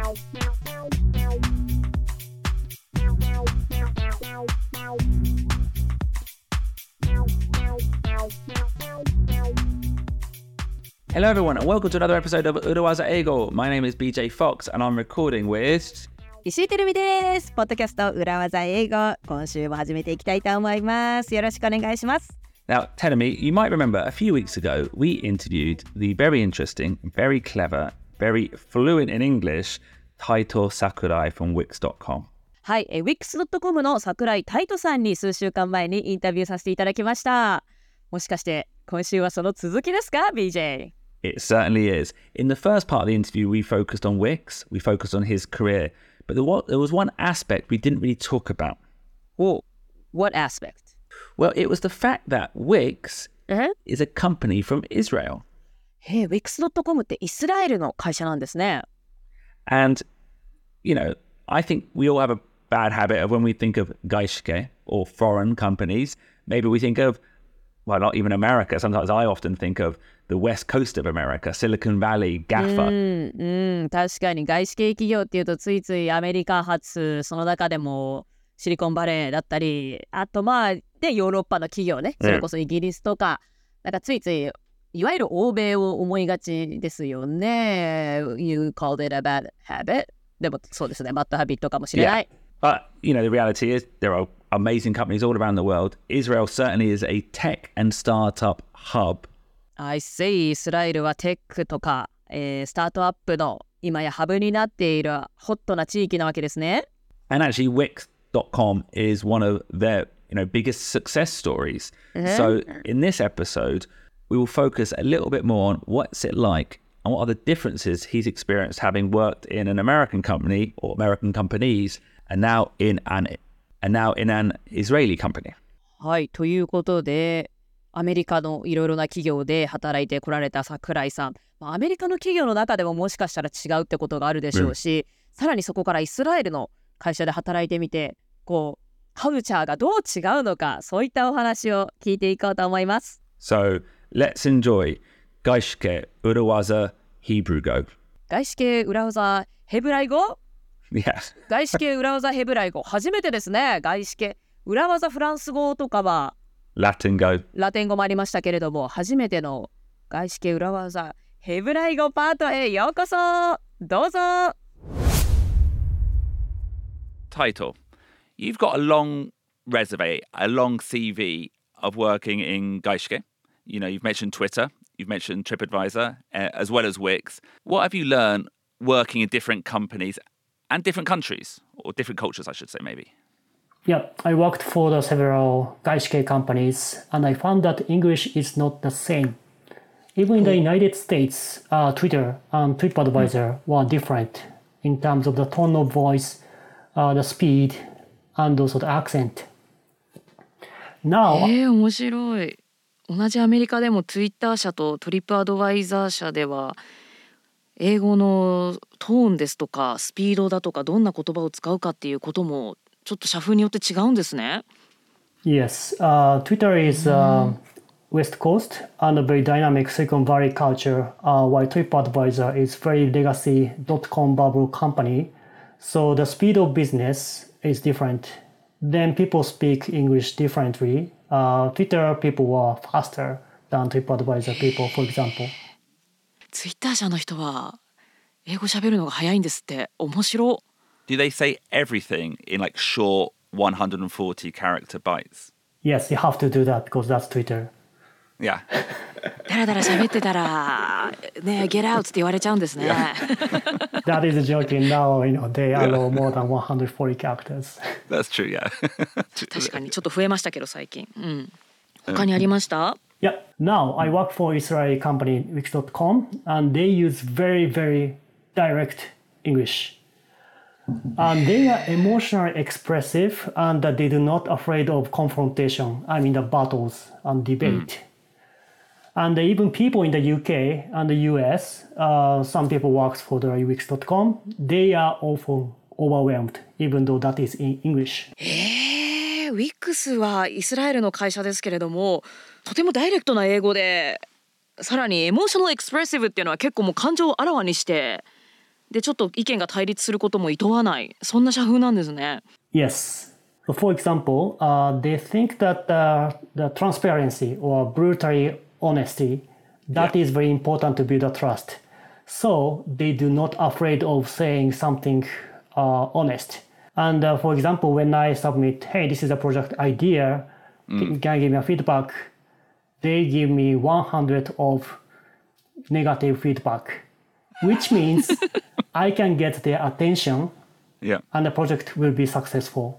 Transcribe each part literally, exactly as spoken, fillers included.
Hello everyone and welcome to another episode of Urawaza Eigo. My name is B J Fox and I'm recording with 石井てるみです。ポッドキャスト裏技英語、今週も始めていきたいと思います。よろしくお願いします。 Now, Terumi, you might remember a few weeks ago we interviewed the very interesting, very clever, very fluent in English Taito Sakurai from Wix ドットコム。 はい、え ウィックスドットコム の桜井タイトさんに数週間前にインタビューさせていただきました。もしかして今週はその続きですか ビージェー? It certainly is. In the first part of the interview, we focused on Wix, we focused on his career, but there was, there was one aspect we didn't really talk about. Oh, what aspect? Well, it was the fact that Wix uh-huh. is a company from Israel. へえ、ウィックスドットコム ってイスラエルの会社なんですね。 And, you know, I think we all have a bad habit of when we think of gaishike or foreign companies, maybe we think of, well, not even America. Sometimes I often think of the west coast of America, Silicon Valley, GAFA. うん、うん、確かに外資系企業っていうとついついアメリカ発、その中でもシリコンバレーだったり、あとまあでヨーロッパの企業ね、それこそイギリスとか、なんかついついいわゆる欧米を思いがちですよね。You called it a bad habit. でもそうですね、バッドハビットかもしれない。 Yeah. But, you know, the reality is there are amazing companies all around the world. Israel certainly is a tech and startup hub.I see. イスラエルはテックとか、えー、スタートアップの今やハブになっているホットな地域なわけですね。 And actually, Wix ドットコム is one of their, you know, biggest success stories. So in this episode, we will focus a little bit more on what's it like and what are the differences he's experienced having worked in an American company or American companies and now in an, and now in an Israeli company. はい、ということで、アメリカのいろいろな企業で働いてこられた桜井さん、アメリカの企業の中でももしかしたら違うってことがあるでしょうし、うん、さらにそこからイスラエルの会社で働いてみて、こうカルチャーがどう違うのか、そういったお話を聞いていこうと思います。 So let's enjoy 外資系裏技ヘブライ語。 外資系裏技ヘブライ語？ Yeah. 外資系裏技ヘブライ語初めてですね。外資系裏技フランス語とかはラテン語。 ラテン語もありましたけれども、初めての外資系裏技ヘブライ語パートへようこそ。どうぞ。 Title. You've got a long resume, a long C V of working in gaishike. You know, you've mentioned Twitter, you've mentioned TripAdvisor, uh, as well as Wix. What have you learned working in different companies and different countries, or different cultures, I should say, maybe?Yeah, I worked for the several gaishike companies, and I found that English is not the same. Even in the United States, uh, Twitter and TripAdvisor were different in terms of the tone of voice, uh, the speed, and also the accent. Now, えー、面白い。同じアメリカでも Twitter 社と TripAdvisor 社では英語のトーンですとかスピードだとかどんな言葉を使うかっていうこともちょっと社風によって違うんですね。 Yes, uh, Twitter is uh, West Coast and a very dynamic Silicon Valley culture, uh, while TripAdvisor is very legacy dot-com bubble company. So the speed of business is different. Then people speak English differently. Uh, Twitter people are faster than TripAdvisor people, for example. Twitter 社の人は英語喋るのが早いんですって。面白い。 Do they say everything in like short one hundred forty character bytes? Yes, you have to do that because that's Twitter. Yeah. だらだら喋ってたらね、get out って言われちゃうんですね。 That is joking. Now, you know, they allow more than one hundred forty characters. That's true, yeah. 確かにちょっと増えましたけど最近。うん。他にありました？ Yeah. Now I work for Israeli company Wix ドットコム and they use very, very direct English.And they are emotionally expressive and they do not afraid of confrontation. I mean the battles and debate. Mm. And even people in the U K and the U S, uh, some people works for the Wix ドットコム, they are often overwhelmed, even though that is in English. えー、ウィックスはイスラエルの会社ですけれども、とてもダイレクトな英語で、さらにエモーショナルエクスプレッシブっていうのは結構もう感情をあらわにしてでちょっと意見が対立することも厭わない、そんな社風なんですね。 Yes. For example, uh, they think that uh, the transparency or brutally honesty, that Yeah. is very important to build a trust. So they do not afraid of saying something uh, honest. And uh, for example, when I submit, hey, this is a project idea, can, can you give me a feedback? They give me one hundred of negative feedback, which means I can get their attention Yeah. and the project will be successful.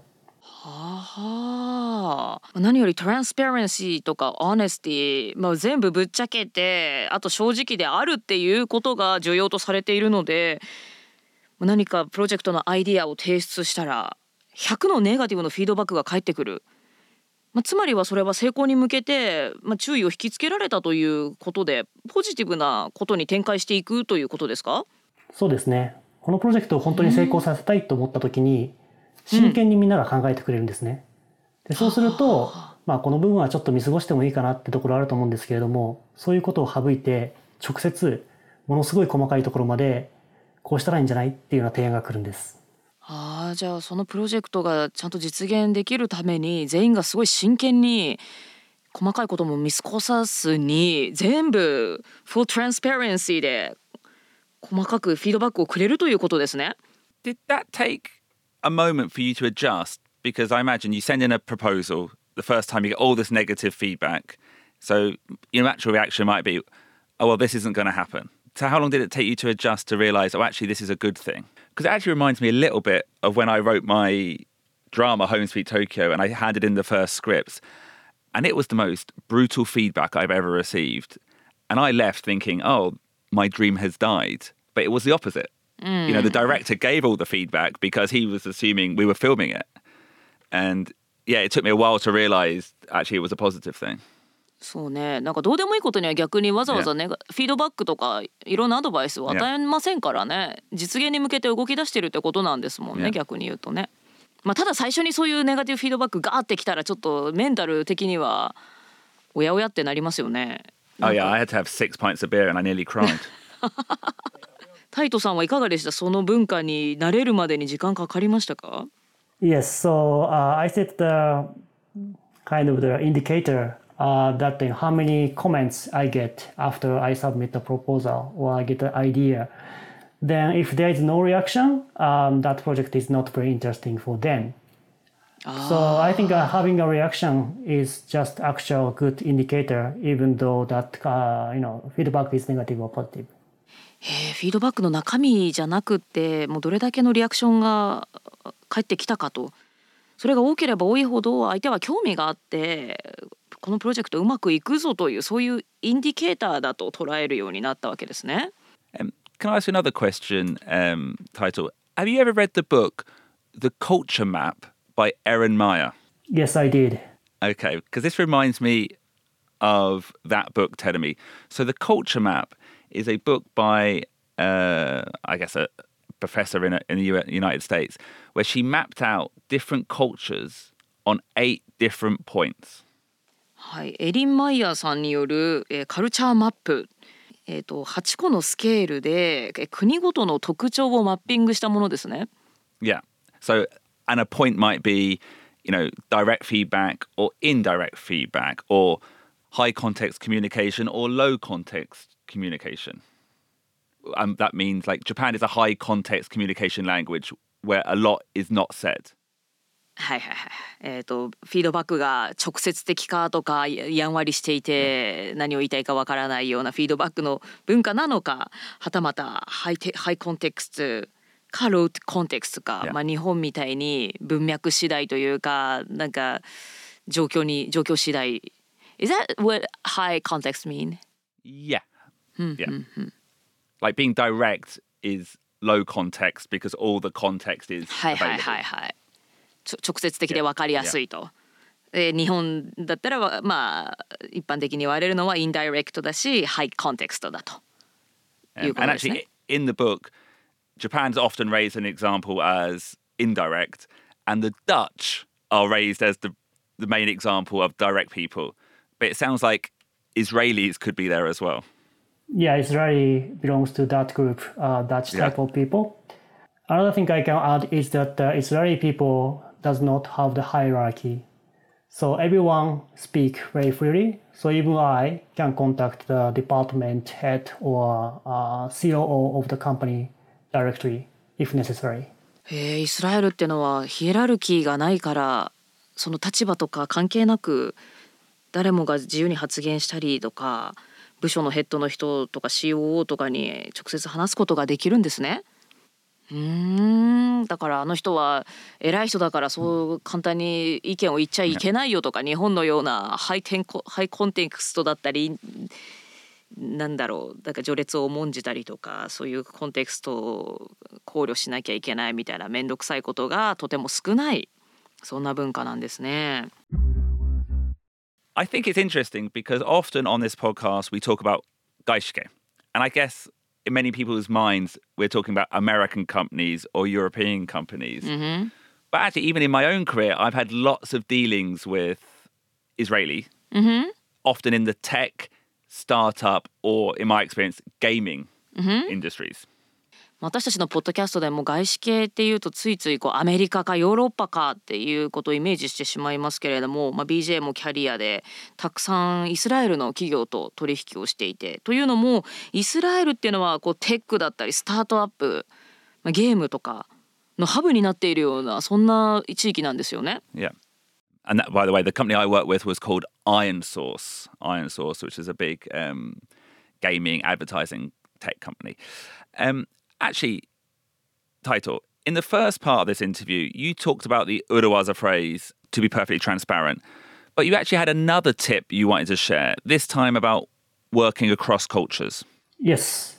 はあ、何よりトランスペアレンシーとかオネスティ、まあ、全部ぶっちゃけて、あと正直であるっていうことが重要とされているので、何かプロジェクトのアイディアを提出したらひゃくのネガティブのフィードバックが返ってくる、まあ、つまりはそれは成功に向けて、まあ、注意を引きつけられたということで、ポジティブなことに展開していくということですか？ そうですね。このプロジェクトを本当に成功させたいと思った時に、真剣にみんなが考えてくれるんですね。でそうすると、まあ、この部分はちょっと見過ごしてもいいかなってところあると思うんですけれども、そういうことを省いて直接ものすごい細かいところまでこうしたらいいんじゃないっていうような提案が来るんです。 ああ、じゃあそのプロジェクトがちゃんと実現できるために全員がすごい真剣に細かいことも見過ごさずに全部フルトランスパレンシーで細かくフィードバックをくれるということですね。 Did that take a moment for you to adjust? Because I imagine you send in a proposal the first time, you get all this negative feedback. So your natural reaction might be, oh, well, this isn't going to happen. So how long did it take you to adjust to realize, oh, actually, this is a good thing? Because it actually reminds me a little bit of when I wrote my drama, Home Sweet Tokyo, and I handed in the first scripts. And it was the most brutal feedback I've ever received. And I left thinking, oh, my dream has died. But it was the opposite. Mm. You know, the director gave all the feedback because he was assuming we were filming it. And yeah, it took me a while to realize actually it was a positive thing. そうね、なんかどうでもいいことには逆にわざわざね、フィードバックとかいろんなアドバイスを与えませんからね、実現に向けて動き出してるってことなんですもんね、逆に言うとね。まあ、ただ最初にそういうネガティブフィードバックガーってきたらちょっとメンタル的にはおやおやってなりますよね。 Oh yeah, I had to have six pints of beer and I nearly cried. タイトさんはいかがでした？その文化に慣れるまでに時間かかりましたか？ Yes, so uh, I set the kind of the indicator uh, that you know, how many comments I get after I submit the proposal or I get the idea. Then if there is no reaction, um, that project is not very interesting for them. So I think uh, having a reaction is just actual good indicator, even though that uh, you know feedback is negative or positive. へえ、フィードバックの中身じゃなくってもうどれだけのリアクションが返ってきたかと、それが多ければ多いほど相手は興味があってこのプロジェクトうまくいくぞというそういうインディケーターだと捉えるようになったわけですね。 Um, can I ask you another question, um, title? Have you ever read the book The Culture Map by Erin Meyer? Yes, I did. Okay, because this reminds me of that book, telling me. So The Culture Map is a book by, uh, I guess, a professor in, a, in the United States, where she mapped out different cultures on eight different points. はい、エリン・マイヤーさんによる、えー、カルチャーマップ、えーと、はちこのスケールで、えー、国ごとの特徴をマッピングしたものですね。 Yeah. So, and a point might be, you know, direct feedback or indirect feedback or high context communication or low context communication. And that means like Japan is a high context communication language where a lot is not said. はいはいはい。えっとフィードバックが直接的かとかやんわりしていて何を言いたいかわからないようなフィードバックの文化なのか、はたまたハイテハイコンテクストかローコンテクストか、yeah. まあ日本みたいに文脈次第というかなんか状況に状況次第。Is that what high context mean? Yeah. Yeah. Like being direct is low context because all the context is available. はいはいはいはい。直接的で分かりやすいと。Yeah. 日本だったらまあ一般的に言われるのはインダイレクトだし、ハイコンテクストだということですね。 And actually, in the book, Japan's often raised an example as indirect, and the Dutch are raised as the the main example of direct people. But it sounds like Israelis could be there as well. Yeah, Israeli belongs to that group, uh, that type Yeah. of people. Another thing I can add is that uh, Israeli people does not have the hierarchy. So everyone speak very freely. So even I can contact the department head or uh, C O O of the company directly if necessary. へえ、イスラエルってのはヒエラルキーがないから、その立場とか関係なく誰もが自由に発言したりとか、部署のヘッドの人とか シーオーオー とかに直接話すことができるんですね。うーん、だからあの人は偉い人だからそう簡単に意見を言っちゃいけないよとか、日本のようなハイテンコハイコンテクストだったり、なんだろう、だから序列を重んじたりとか、そういうコンテクストを考慮しなきゃいけないみたいな面倒くさいことがとても少ない、そんな文化なんですね。 I think it's interesting because often on this podcast we talk about gaishike. And I guess in many people's minds we're talking about American companies or European companies. Mm-hmm. But actually, even in my own career, I've had lots of dealings with Israeli, Mm-hmm. often in the tech, startup, or in my experience, gaming Mm-hmm. industries. 私たちのポッドキャストでも外資系っていうとついついこうアメリカかヨーロッパかっていうことをイメージしてしまいますけれども、まあ、ビージェー もキャリアでたくさんイスラエルの企業と取引をしていて、というのもイスラエルっていうのはこうテックだったりスタートアップ、まあ、ゲームとかのハブになっているようなそんな地域なんですよね。 Yeah. And that, by the way, the company I worked with was called Iron Source, Iron Source, which is a big um, gaming advertising tech company. Um, actually, Taito, in the first part of this interview, you talked about the Urawaza phrase, to be perfectly transparent, but you actually had another tip you wanted to share, this time about working across cultures. Yes.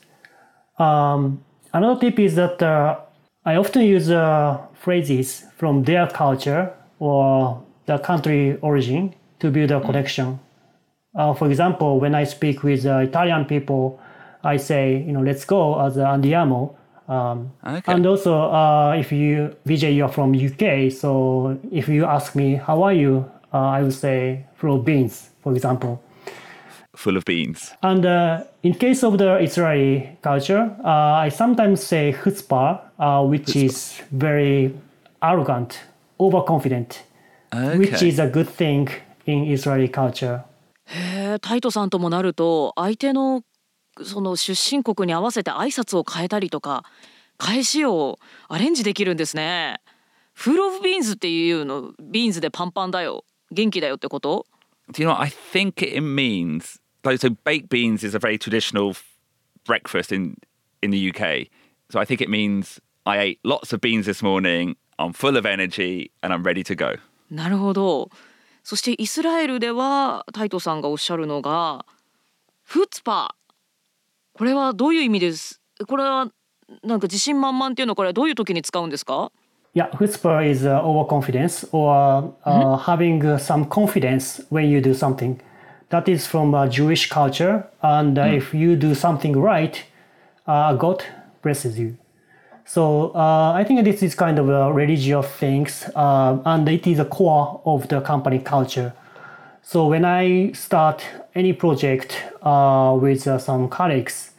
Um, another tip is that uh, I often use uh, phrases from their culture or the country origin to build a connection. Uh, for example, when I speak with uh, Italian people, I say, you know, let's go as uh, andiamo. Um, Okay. And also, uh, if you, Vijay, you're from U K, so if you ask me, how are you? Uh, I would say, full of beans, for example. Full of beans. And uh, in case of the Israeli culture, uh, I sometimes say chutzpah, uh, which is very arrogant, overconfident, which Okay. is a good thing in Israeli culture. へえ、タイトさんともなると相手のその出身国に合わせて挨拶を変えたりとか返しをアレンジできるんですね。フルオブビーンズっていうの、ビーンズでパンパンだよ、元気だよってこと？ Do you know what? I think it means, like, so baked beans is a very traditional f- breakfast in, in the U K. So I think it means I ate lots of beans this morning, I'm full of energy, and I'm ready to go. なるほど。そしてイスラエルではタイトさんがおっしゃるのがフッツパー。これはどういう意味です？これはなんか自信満々っていうのはこれはどういう時に使うんですか？ Yeah, chutzpah is uh, overconfidence or uh, having uh, some confidence when you do something. That is from uh, Jewish culture. And uh, if you do something right, uh, God blesses you. So uh, I think this is kind of a religious things, uh, and it is a core of the company culture. So when I start any project uh, with uh, some colleagues,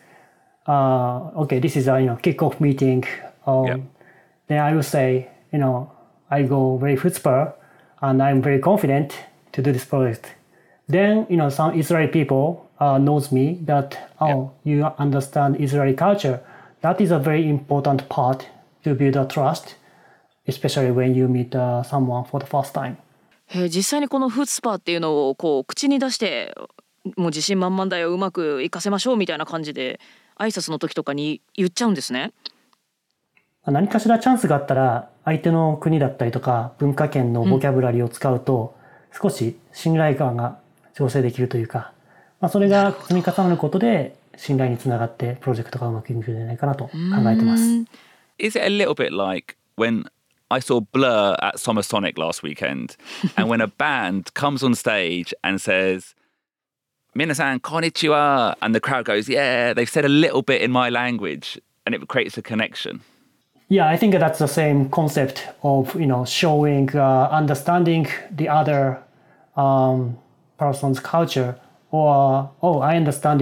uh, okay, this is a you know kickoff meeting. Um, Yeah. Then I will say, you know, I go very chutzpah, and I'm very confident to do this project. Then you know some Israeli people uh, knows me that oh you understand Israeli culture. That is a very important part to build a trust, especially when you meet uh, someone for the first time. へえ、実際にこのフッツパーっていうのをこう口に出してもう自信満々だよ、うまくいかせましょうみたいな感じで挨拶の時とかに言っちゃうんですね。 何かしらチャンスがあったら相手の国だったりとか文化圏のボキャブラリーを使うと少し信頼感が醸成できるというか、まあ、それが積み重なることで信頼につながってプロジェクトがうまくいくんじゃないかなと考えてます。 Is it a little bit like when I saw Blur at Summer Sonic last weekend, and when a band comes on stage and says, "Minasan, konnichiwa," and the crowd goes, "Yeah," they've said a little bit in my language, and it creates a connection. Yeah, I think that's the same concept of you know showing, uh, understanding the other um, person's culture, or oh, I understand you,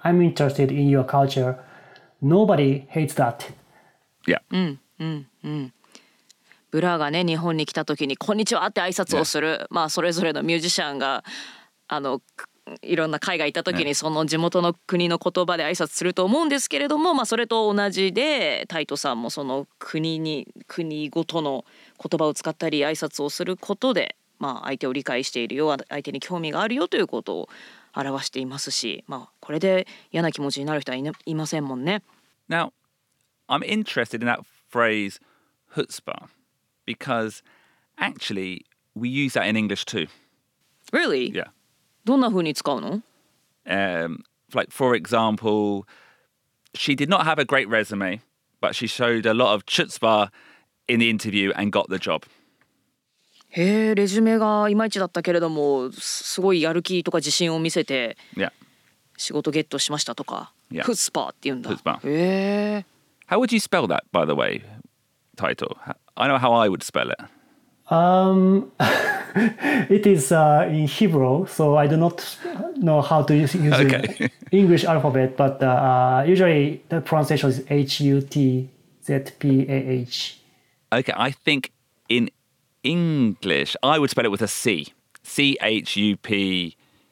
I'm interested in your culture. Nobody hates that. Yeah. うんうんうん。ブラがね日本に来た時に「こんにちは」って挨拶をする、yeah. まあそれぞれのミュージシャンがあのいろんな海外行った時にその地元の国の言葉で挨拶すると思うんですけれども、まあそれと同じでタイトさんもその国に国ごとの言葉を使ったり挨拶をすることで、まあ相手を理解しているよ、相手に興味があるよということを表していますし、まあこれで嫌な気持ちになる人はいな、いませんもんね。 Now, I'm interested in that phrase chutzpah because actually we use that in English too. Really? Yeah. どんな風に使うの? Um, like, for example, she did not have a great resume, but she showed a lot of chutzpah in the interview and got the job. へえ、レジュメがいまいちだったけれども、すごいやる気とか自信を見せて、 Yeah. 仕事ゲットしましたとか、 Yeah. フッスパーって言うんだ。 Chutzpah. へえ。 How would you spell that, by the way, title? I know how I would spell it. Um, it is uh, in Hebrew, so I do not know how to use, use Okay. the English alphabet, but uh, usually the pronunciation is H U T Z P A H. Okay, I think in English, I would spell it with a C. C H U P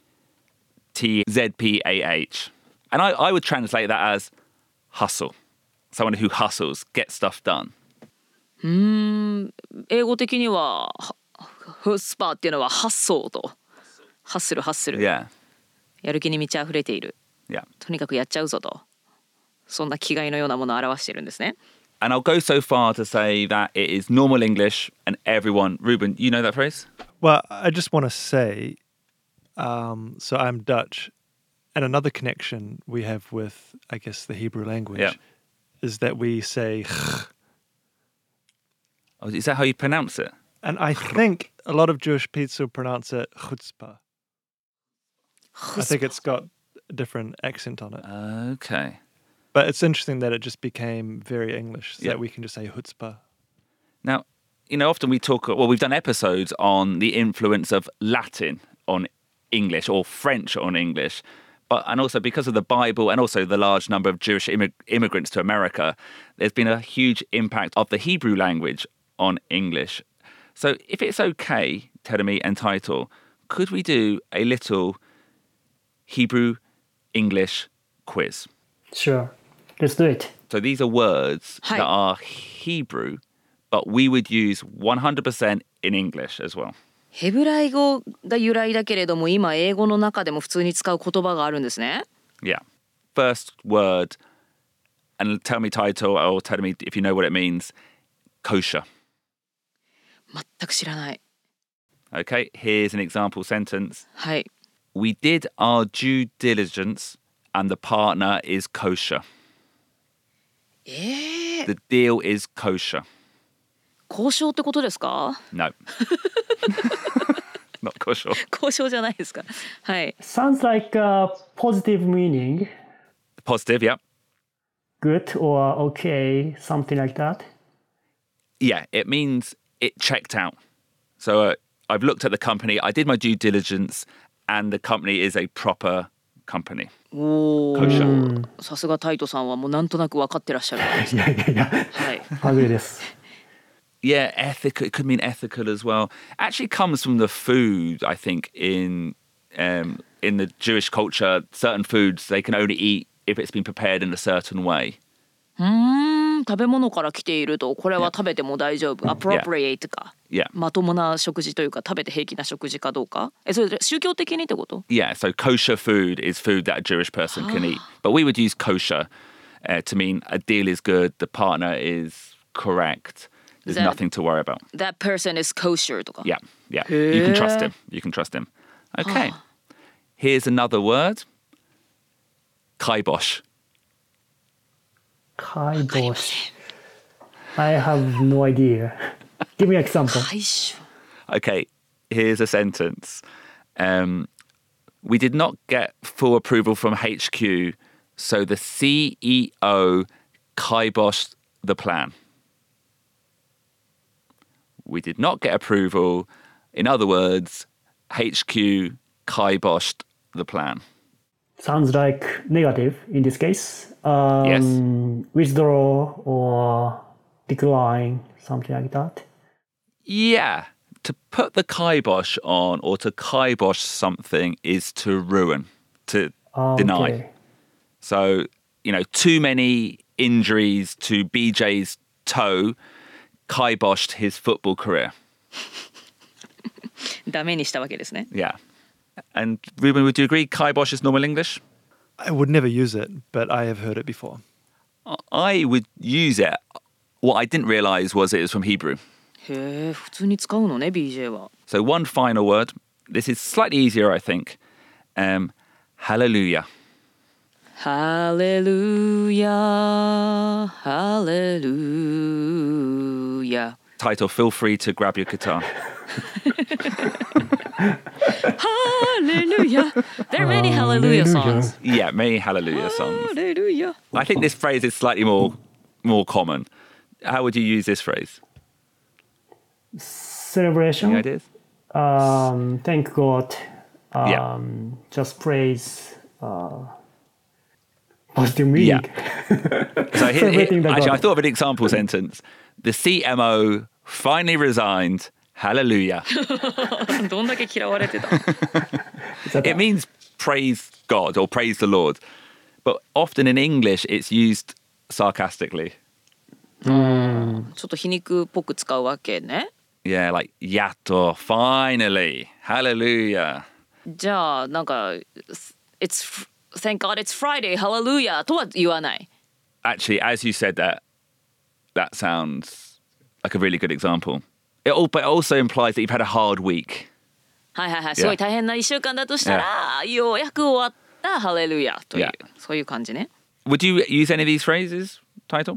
T Z P A H. And I, I would translate that as hustle. Someone who hustles, gets stuff done. うーん、英語的にはフッスパーっていうのはハッソーとハッスルハッスル、 Yeah. やる気に満ち溢れている、 Yeah. とにかくやっちゃうぞと、そんな気概のようなものを表しているんですね。 And I'll go so far to say that it is normal English and everyone... Ruben, you know that phrase? Well, I just want to say, um, so I'm Dutch, and another connection we have with, I guess, the Hebrew language Yeah. is that we say Oh, is that how you pronounce it? and I think a lot of Jewish people pronounce it chutzpah. I think it's got a different accent on it. Okay. But it's interesting that it just became very English, so Yeah. that we can just say chutzpah. Now, you know, often we talk, well, we've done episodes on the influence of Latin on English or French on English. But, and also because of the Bible and also the large number of Jewish immig- immigrants to America, there's been a huge impact of the Hebrew language on English. So if it's okay, Teremi and Title, could we do a little Hebrew English quiz? Sure, let's do it. So these are words Hi. that are Hebrew, but we would use one hundred percent in English as well. ヘブライ語が由来だけれども今英語の中でも普通に使う言葉があるんですね。 Yeah. First word, and tell me title or tell me if you know what it means. Kosher. 全く知らない。 Okay, here's an example sentence. はい。 We did our due diligence and the partner is kosher. えー、 The deal is kosher. 交渉ってことですか？ No. Not kosher. 交渉じゃないですか。はい。 Sounds like a positive meaning, Positive, yeah. good or okay, something like that. Yeah, it means it checked out. So uh, I've looked at the company, I did my due diligence, and the company is a proper company. お kosher. ー、さすがタイトさんはもうなんとなく分かってらっしゃる。 いやいやいや、 はい。 はぐれです。 Yeah, ethical. It could mean ethical as well. Actually, comes from the food. I think in um, in the Jewish culture, certain foods they can only eat if it's been prepared in a certain way. うーん、食べ物から来ているとこれは食べても大丈夫。appropriate か。 Yeah. まともな食事というか食べて平気な食事かどうか。え、それ宗教的にってこと？ Yeah. So kosher food is food that a Jewish person can eat, but we would use kosher uh, to mean a deal is good, the partner is correct. There's That- nothing to worry about. That person is kosher とか。 Yeah, yeah. You can trust him. You can trust him. Okay. Here's another word. Kibosh. Kaibosh. I have no idea. Give me an example. 解消。 Okay, here's a sentence. Um, we did not get full approval from H Q, so the C E O kiboshed the plan. We did not get approval. In other words, H Q kiboshed the plan. sounds like negative in this case. Um, Yes. Withdraw or decline, something like that. Yeah. To put the kibosh on or to kibosh something is to ruin, to Ah, deny. okay. So, you know, too many injuries to B J's toe kiboshed his football career. ダメにしたわけですね。 Yeah. And Ruben, would you agree kibosh is normal English? I would never use it, but I have heard it before. I would use it. What I didn't realize was it was from Hebrew. へえ、普通に使うのね、ビージェー は。 So one final word. This is slightly easier, I think. Um, hallelujah. ハレルヤ、ハレルヤ。 Title, feel free to grab your guitar. Hallelujah. There are many hallelujah songs. Yeah, many hallelujah songs. Hallelujah. I think this phrase is slightly more more common. How would you use this phrase? Celebration. Any ideas? Um, thank God. Um, Yeah. Just praise. Uh, positive meaning. So here, Celebrating the here, actually, God. I thought of an example sentence. The C M O finally resigned. Hallelujah. どんだけ嫌われてた It means praise God or praise the Lord. But often in English, it's used sarcastically. ちょっと皮肉っぽく使うわけね。 Yeah, like, yato, finally. Hallelujah. じゃあ、なんか、It's, thank God it's Friday, hallelujah とは言わない。 Actually, as you said that, that sounds like a really good example. It all, but it also implies that you've had a hard week. はいはいはい。すごい大変ないっしゅうかんだとしたら、ようやく終わったハレルヤという、 Yeah. そういう感じね。 Would you use any of these phrases, Title?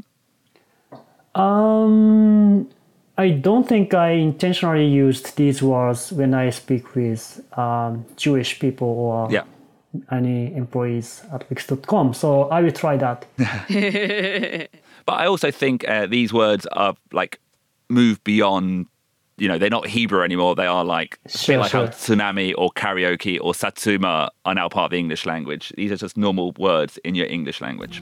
Um, I don't think I intentionally used these words when I speak with um, Jewish people or Yeah. any employees at Wix dot com. So I will try that. But I also think uh, these words are like move beyond, you know, they're not Hebrew anymore. They are like a Sure, bit like how sure. tsunami or karaoke or satsuma are now part of the English language. These are just normal words in your English language.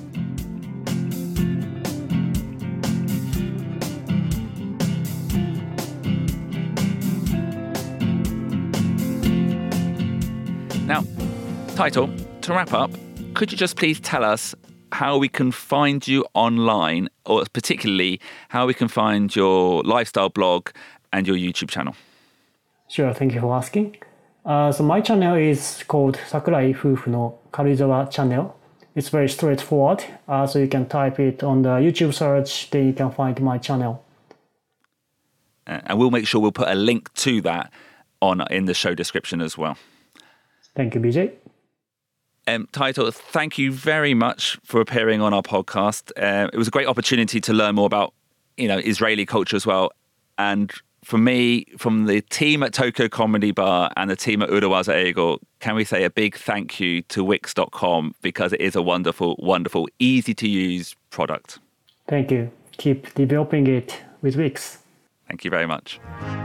Now, Title, to wrap up, could you just please tell us how we can find you online, or particularly how we can find your lifestyle blog and your YouTube channel? Sure, thank you for asking. Uh, so my channel is called Sakurai Fufu no Karuizawa channel. It's very straightforward. Uh, so you can type it on the YouTube search, then you can find my channel. Uh, and we'll make sure we'll put a link to that on in the show description as well. Thank you, B J. Um, Title, thank you very much for appearing on our podcast. Uh, it was a great opportunity to learn more about, you know, Israeli culture as well. And for me, from the team at Tokyo Comedy Bar and the team at Urawaza Eigo, can we say a big thank you to Wix dot com, because it is a wonderful, wonderful, easy to use product. Thank you. Keep developing it with Wix. Thank you very much.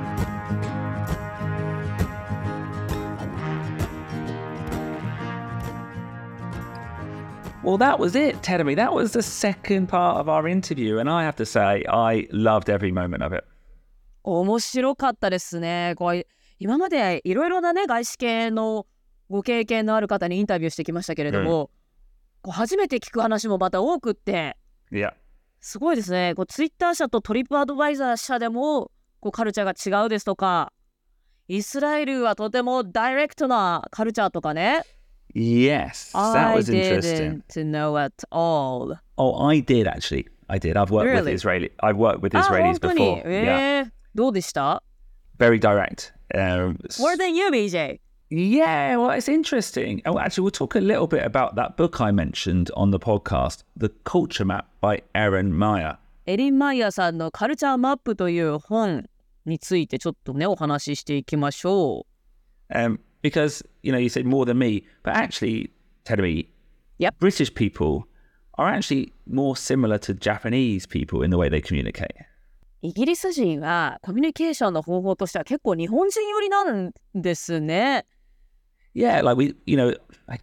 Well, that was it, Terumi. That was the second part of our interview. And I have to say, I loved every moment of it. 面白かったですね。こう今までいろいろなね外資系のご経験のある方にインタビューしてきましたけれども、こう初めて聞く話もまた多くって、 Yeah. すごいですね。こうツイッター社とトリップアドバイザー社でもこうカルチャーが違うですとか、イスラエルはとてもダイレクトなカルチャーとかね。 Yes, that I was interesting. didn't know at all. Oh, I did actually. I did. I've worked with Really? Israeli. I've worked with あ、 Israelis 本当に。 before. えー、どうでした Very direct. Um, More than you, B J. yeah, well, it's interesting. Oh, actually, we'll talk a little bit about that book I mentioned on the podcast, The Culture Map by Erin Meyer. エリン・マイヤーさんのカルチャーマップという本についてちょっとねお話ししていきましょう。 Um, because, you know, you said more than me, but actually, Terumi, Yep. British people are actually more similar to Japanese people in the way they communicate. イギリス人はコミュニケーションの方法としては結構日本人寄りなんですね。 Yeah, like we, you know, again,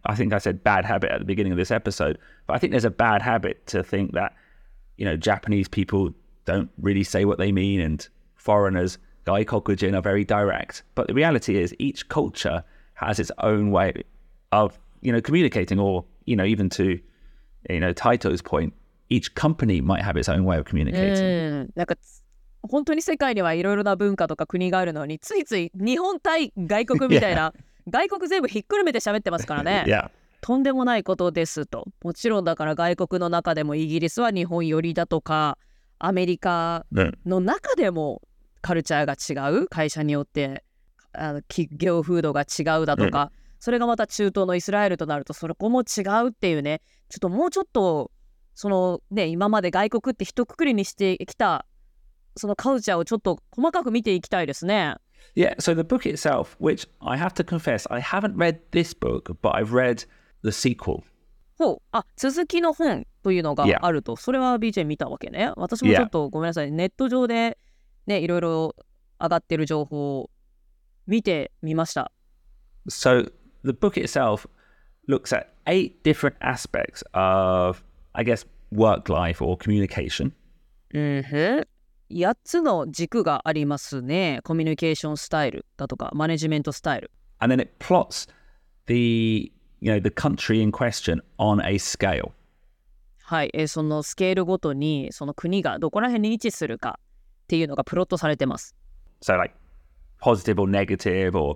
I think I said bad habit at the beginning of this episode, but I think there's a bad habit to think that, you know, Japanese people don't really say what they mean and foreigners, gaikokujin, are very direct. But the reality is each culture has its own way of, you know, communicating, or, you know, even to, you know, Taito's point, each company might have its own way of communicating. うん、なんか本当に世界にはいろいろな文化とか国があるのに、ついつい日本対外国みたいな、外国全部ひっくるめて喋ってますからね。 Yeah. とんでもないことですと。もちろんだから外国の中でもイギリスは日本寄りだとか、アメリカの中でもカルチャーが違う、会社によってあの企業風土が違うだとか、それがまた中東のイスラエルとなるとそこも違うっていうね、ちょっともうちょっとそのね、今まで外国って一括りにしてきたそのカルチャーをちょっと細かく見ていきたいですね。 Yeah, so the book itself, which I have to confess, I haven't read this book, but I've read the sequel. ほう、あ、続きの本というのがあると、それは ビージェー 見たわけね。私もちょっとごめんなさい、ネット上でね、いろいろ上がってる情報を見てみました。 So the book itself looks at eight different aspects of, I guess, work life or communication. うんふん。やっつの軸がありますね。コミュニケーションスタイルだとか、マネジメントスタイル。 And then it plots the, you know, the country in question on a scale. はい、えー、そのスケールごとにその国がどこら辺に位置するかっていうのがプロットされてます。 So like positive or negative or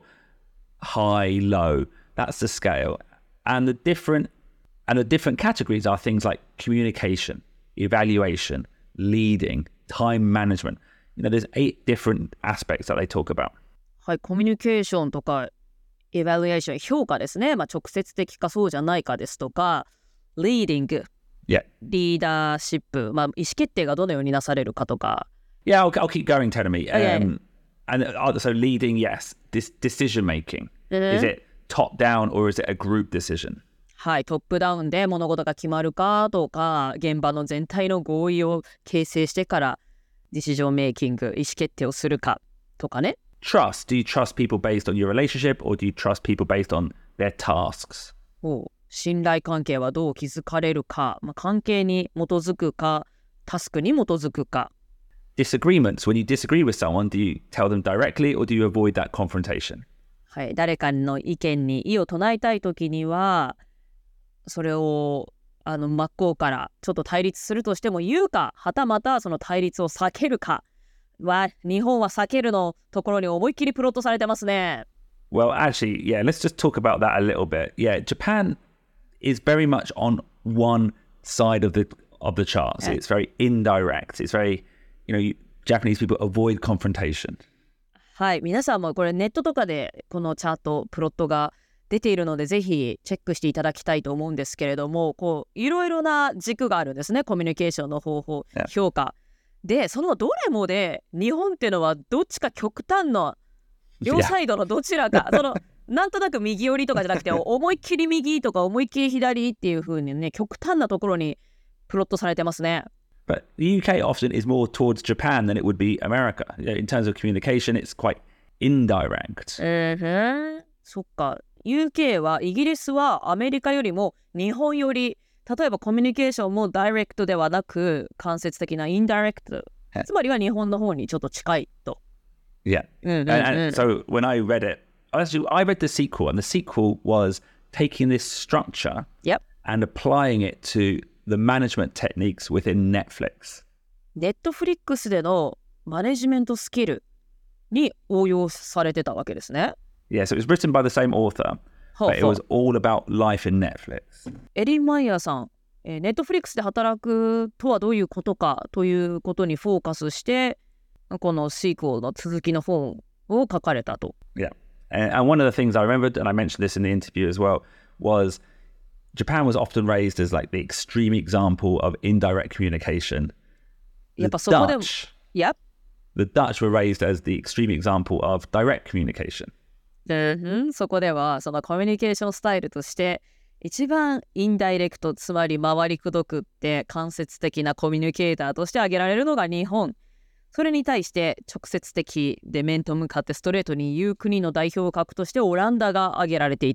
high, low, that's the scale. And the different and the different categories are things like communication, evaluation, leading, time management. You know, there's eight different aspects that they talk about. はい、コミュニケーションとかエバリエーション、評価ですね。まあ直接的かそうじゃないかですとか、leading、 yeah. リーダーシップ、まあ意思決定がどのようになされるかとか。 Yeah, I'll, I'll keep going, Tenemy. Um, Okay. And uh, so leading, yes. This decision making. Is it top down or is it a group decision? はい、トップダウンで物事が決まるかとか、現場の全体の合意を形成してからディシジョンメイキング、意思決定をするかとかね。 Trust. Do you trust people based on your relationship or do you trust people based on their tasks? お信頼関係はどう築かれるか、まあ、関係に基づくか、タスクに基づくか。 Disagreements. When you disagree with someone, do you tell them directly or do you avoid that confrontation? はい、誰かの意見に異を唱えたいときには、それをあの真っ向からちょっと対立するとしても言うか、はたまたその対立を避けるかは、日本は避けるのところに思いっきりプロットされてますね。 Well, actually, yeah, let's just talk about that a little bit. Yeah, Japan is very much on one side of the of the charts. Yeah. It's very indirect. It's very, you know, you, Japanese people avoid confrontation. はい、皆さんもこれネットとかでこのチャート、プロットが出ているのでぜひチェックしていただきたいと思うんですけれども、こういろいろな軸があるんですね。コミュニケーションの方法、 Yeah. 評価で、そのどれもで日本っていうのはどっちか極端な両サイドのどちらか、そのなんとなく右寄りとかじゃなくて思いっきり右とか思いっきり左っていう風にね、極端なところにプロットされてますね。 But the U K often is more towards Japan than it would be America. In terms of communication, it's quite indirect. えー、そっか。ユーケー はイギリスはアメリカよりも日本より、例えばコミュニケーションもダイレクトではなく間接的なインダイレクト、つまりは日本の方にちょっと近いと。 Yeah. Mm-hmm. And, and so when I read it, actually, I read the sequel, and the sequel was taking this structure Yep. and applying it to the management techniques within Netflix. ネットフリックスでのマネジメントスキルに応用されてたわけですね。 Yeah, so it was written by the same author, ほう but it ほう was all about life in Netflix. エリン・マイヤーさん、えー、ネットフリックスで働くとはどういうことかということにフォーカスしてこのシークオルの続きの本を書かれたと。 Yeah. And, and one of the things I remembered, and I mentioned this in the interview as well, was Japan was often raised as like the extreme example of indirect communication. や The っぱそこでも、 Dutch, Yep. the Dutch were raised as the extreme example of direct communication. うん、そこではそのコミュニケーションスタイルとして一番インダイレクト、つまり回りくどくって間接的なコミュニケーターとして挙げられるのが日本。それに対して直接的で面と向かってストレートに言う国の代表格としてオランダが挙げられていたと。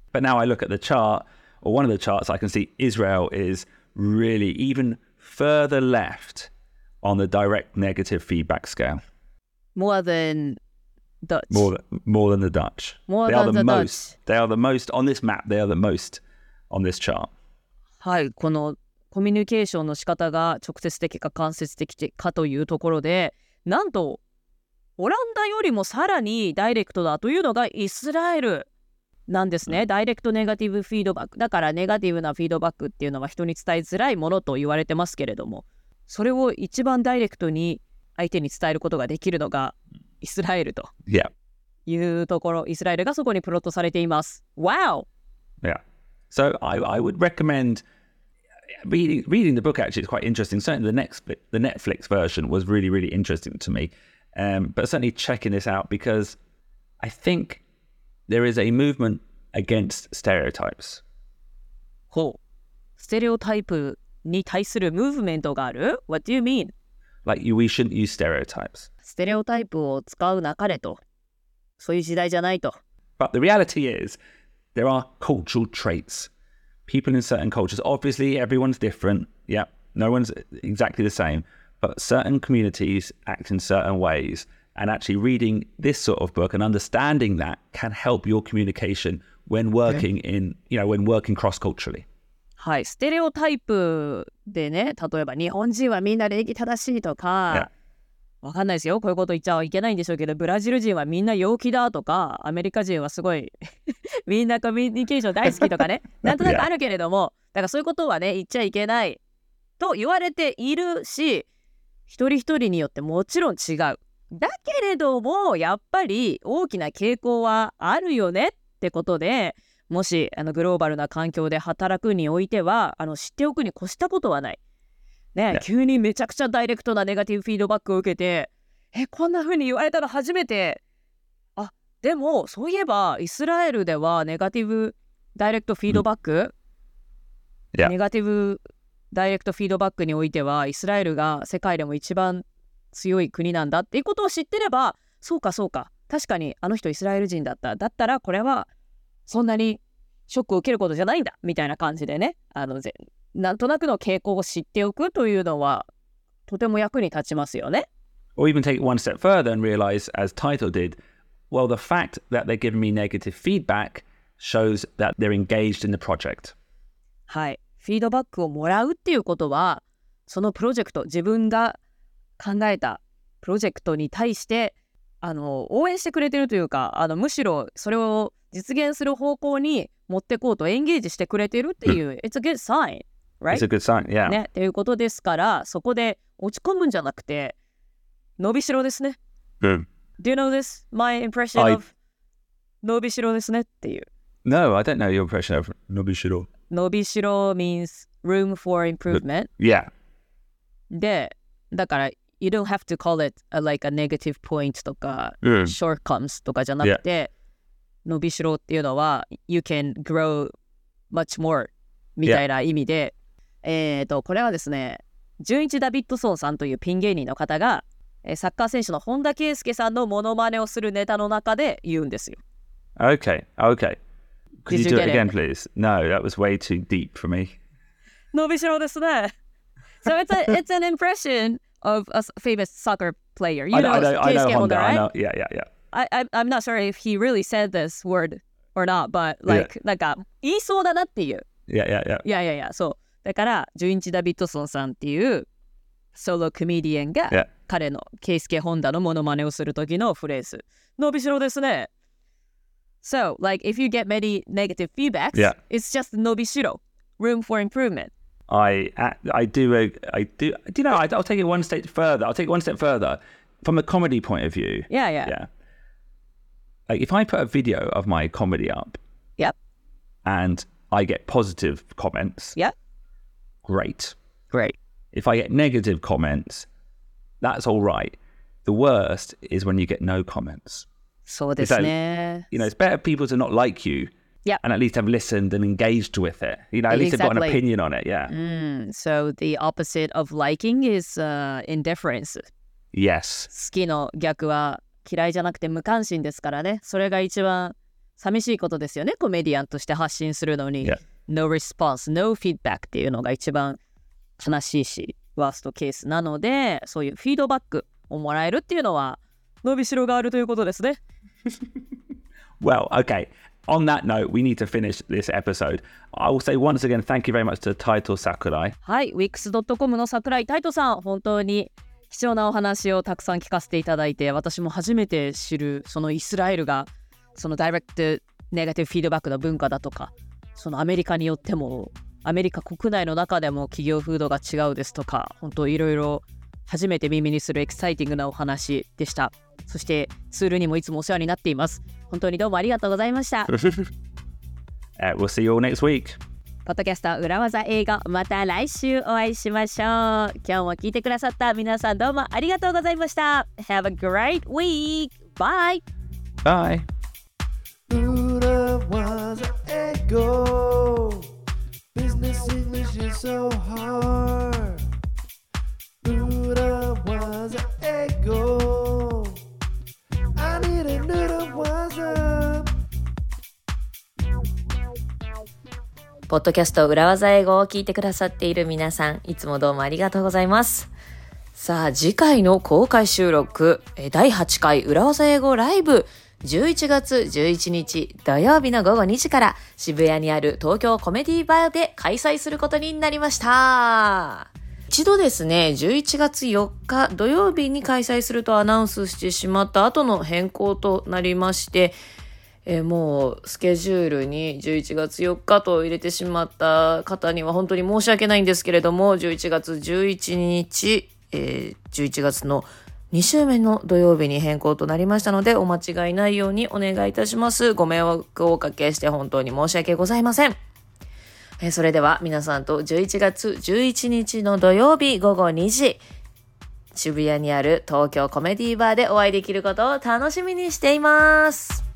But now I look at the chart, or one of the charts, I can see Israel is really even further left on the direct negative feedback scale. More than Dutch. More than, more than the Dutch. More they than are the, the most. Dutch. They are the most on this map. They are the most on this chart. はい、このコミュニケーションの仕方が直接的か間接的かというところで、なんとオランダよりもさらにダイレクトだというのがイスラエルなんですね。ダイレクトネガティブフィードバックだから、ネガティブなフィードバックっていうのは人に伝えづらいものと言われてますけれども、それを一番ダイレクトに相手に伝えることができるのがイスラエルというところ、イスラエルがそこにプロットされています。Wow! Yeah. So I, I would recommend reading reading the book. Actually, it's quite interesting. Certainly, the next the Netflix version was really really interesting to me. Um, but certainly checking this out because I think there is a movement against stereotypes. ほう。ステレオタイプに対するムーブメントがある ?What do you mean? Like you, we shouldn't use stereotypes. ステレオタイプを使うなかれと。そういう時代じゃないと。 But the reality is, there are cultural traits. People in certain cultures, obviously everyone's different. Yeah, no one's exactly the same. But certain communities act in certain ways. And actually reading this sort of book and understanding that can help your communication when working in, you know, when working cross-culturally. はい、ステレオタイプでね、例えば日本人はみんな礼儀正しいとか、わかんないですよ、こういうこと言っちゃいけないんでしょうけど、ブラジル人はみんな陽気だとか、アメリカ人はすごいみんなコミュニケーション大好きとかね、なんとなくあるけれども、だからそういうことはね、言っちゃいけないと言われているし、一人一人によってもちろん違う。だけれども、やっぱり大きな傾向はあるよねってことで、もしあのグローバルな環境で働くにおいては、あの知っておくに越したことはない。ね、 ね、 急にめちゃくちゃダイレクトなネガティブフィードバックを受けて、え、こんな風に言われたの初めて。あ、でもそういえばイスラエルではネガティブダイレクトフィードバック、 うん、 ネガティブダイレクトフィードバックにおいてはイスラエルが世界でも一番強い国なんだっていうことを知ってれば、そうかそうか、確かにあの人イスラエル人だった。だったらこれはそんなにショックを受けることじゃないんだみたいな感じでね、あのぜなんとなくの傾向を知っておくというのはとても役に立ちますよね。 Or even take it one step further and realize, as Title did, well, the fact that they're giving me negative feedback shows that they're engaged in the project. はい、フィードバックをもらうっていうことは、そのプロジェクト、自分が考えたプロジェクトに対してあの応援してくれてるというか、あのむしろそれを実現する方向に持ってこうとエンゲージしてくれてるっていう、うん、It's a good sign, right? It's a good sign, yeah. ね、っていうことですから、そこで落ち込むんじゃなくて、伸びしろですね。 うん。 Do you know this? My impression I... of 伸びしろですねっていう。 No, I don't know your impression of 伸びしろ。 伸びしろ means room for improvement. Yeah. で、だから、you don't have to call it a, like a negative point とか、 うん、 shortcomes とかじゃなくて、yeah. 伸びしろっていうのは you can grow much more みたいな意味で、yeah. えっと、これはですね、純一ダビッドソンさんというピン芸人の方が、サッカー選手の本田圭佑さんのモノマネをするネタの中で言うんですよ。 Okay, okay. Could you do it again, please? No, that was way too deep for me. 伸びしろですね。So it's a it's an impression of a famous soccer player. You know, I know, I know, I know Honda, right? I know. Yeah, yeah, yeah. I, I I'm not sure if he really said this word or not, but like、yeah. なんか言いそうだなっていう。 Yeah, yeah, yeah. いやいやいや、そう。だから純一ダビッドソンさんっていうソロコメディアンが、yeah. 彼のケイスケ・ホンダのモノマネをする時のフレーズ。伸びしろですね。So, like, if you get many negative feedbacks, yeah. it's just 伸びしろ. Room for improvement. I I do a, I do. Do you know? I, I'll take it one step further. I'll take it one step further from a comedy point of view. Yeah, yeah, yeah. Like if I put a video of my comedy up, yep, and I get positive comments, yep, great, great. If I get negative comments, that's all right. The worst is when you get no comments. そうですね。 You know, it's better people to not like you.Yeah. And at least have listened and engaged with it. You know, at least exactly. they've got an opinion on it. Yeah. Mm, so the opposite of liking is、uh, indifference. Yes. 好きの逆は嫌いじゃなくて無関心ですからね。それが一番寂しいことですよね、コメディアンとして発信するのに、 Yeah. No response, no feedback っていうのが一番悲しいしワーストケースなので、そういうフィードバックをもらえるっていうのは伸びしろがあるということですね。 Well, okay. On that note, we need to finish this episode. I will say once again, thank you very much to Taito Sakurai. はい、ウィックスドットコム の桜井タイトさん、本当に貴重なお話をたくさん聞かせていただいて、私も初めて知るそのイスラエルがそのダイレクトネガティブフィードバックの文化だとか、そのアメリカによってもアメリカ国内の中でも企業風土が違うですとか、本当いろいろ初めて耳にするエキサイティングなお話でした。そしてツールにもいつもお世話になっています。本当にどうもありがとうございました。 uh, we'll see you all next week. ポッドキャスト裏技英語、また来週お会いしましょう。今日も聞いてくださった皆さんどうもありがとうございました。Have a great week. Bye. Bye. 裏技英語 Business English is so hard. 裏技英語 I need a 裏技。 ポッドキャスト裏技英語を聞いてくださっている皆さん、いつもどうもありがとうございます。さあ、次回の公開収録、だいはちかい裏技英語ライブ、じゅういちがつじゅういちにち土曜日のごごにじから渋谷にある東京コメディバーで開催することになりました。一度ですね、じゅういちがつよっか土曜日に開催するとアナウンスしてしまった後の変更となりまして、えー、もうスケジュールにじゅういちがつよっかと入れてしまった方には本当に申し訳ないんですけれども、じゅういちがつじゅういちにち、えー、じゅういちがつのに週目の土曜日に変更となりましたので、お間違いないようにお願いいたします。ご迷惑をおかけして本当に申し訳ございません。えー、それでは皆さんとじゅういちがつじゅういちにちの土曜日ごごにじ、渋谷にある東京コメディバーでお会いできることを楽しみにしています。